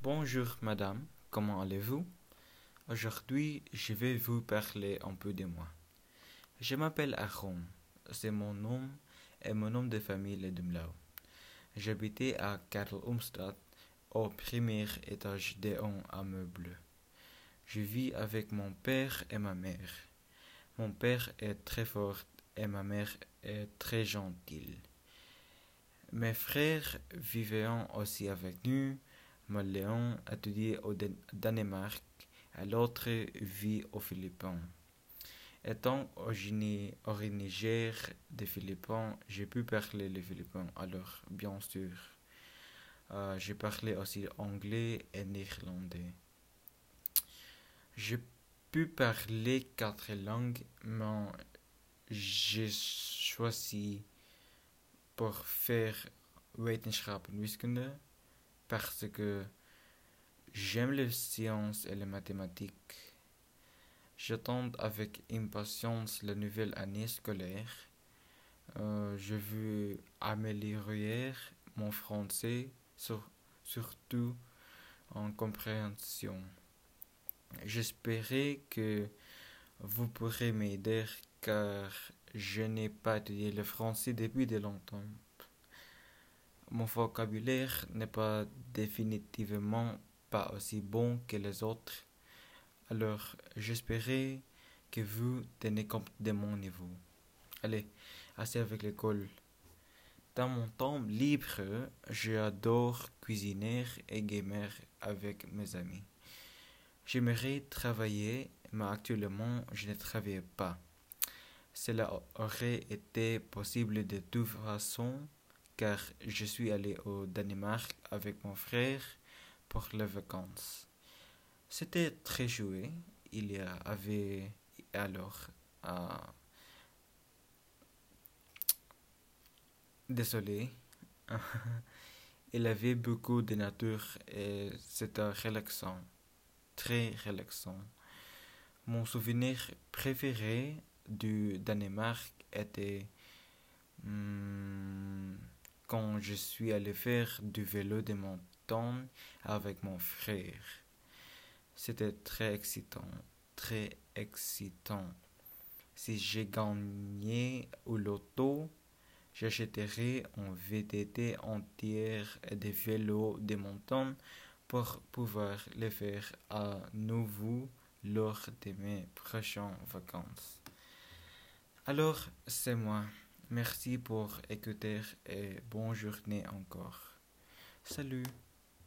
Bonjour madame, comment allez-vous? Aujourd'hui, je vais vous parler un peu de moi. Je m'appelle Aaron, c'est mon nom et mon nom de famille est Dumlau. J'habitais à Karel Umstad au premier étage des 1 immeuble. Je vis avec mon père et ma mère. Mon père est très fort et ma mère est très gentille. Mes frères vivaient aussi avec nous, mais Léon étudie au Danemark et l'autre vit aux Philippines. Étant originaire des Philippines, j'ai pu parler les Philippines, alors bien sûr. J'ai parlé aussi anglais et néerlandais. J'ai pu parler 4 langues, mais j'ai choisi pour faire wetenschap en wiskunde parce que j'aime les sciences et les mathématiques. J'attends avec impatience la nouvelle année scolaire. Je veux améliorer mon français, surtout en compréhension. J'espérais que vous pourrez m'aider car je n'ai pas étudié le français depuis de longtemps. Mon vocabulaire n'est pas définitivement pas aussi bon que les autres, alors j'espérais que vous tenez compte de mon niveau. Allez, assez avec l'école. Dans mon temps libre, j'adore cuisiner et gamer avec mes amis. J'aimerais travailler, mais actuellement je ne travaille pas. Cela aurait été possible de toute façon car je suis allé au Danemark avec mon frère pour les vacances. C'était très joué. Il y avait alors euh, désolé. Il avait beaucoup de nature et c'était relaxant, très relaxant. Mon souvenir préféré du Danemark était quand je suis allé faire du vélo de montagne avec mon frère. C'était très excitant, très excitant. Si j'ai gagné au loto, j'achèterai un VTT entière et des vélos de montagne pour pouvoir les faire à nouveau lors de mes prochaines vacances. Alors, c'est moi. Merci pour écouter et bonne journée encore. Salut!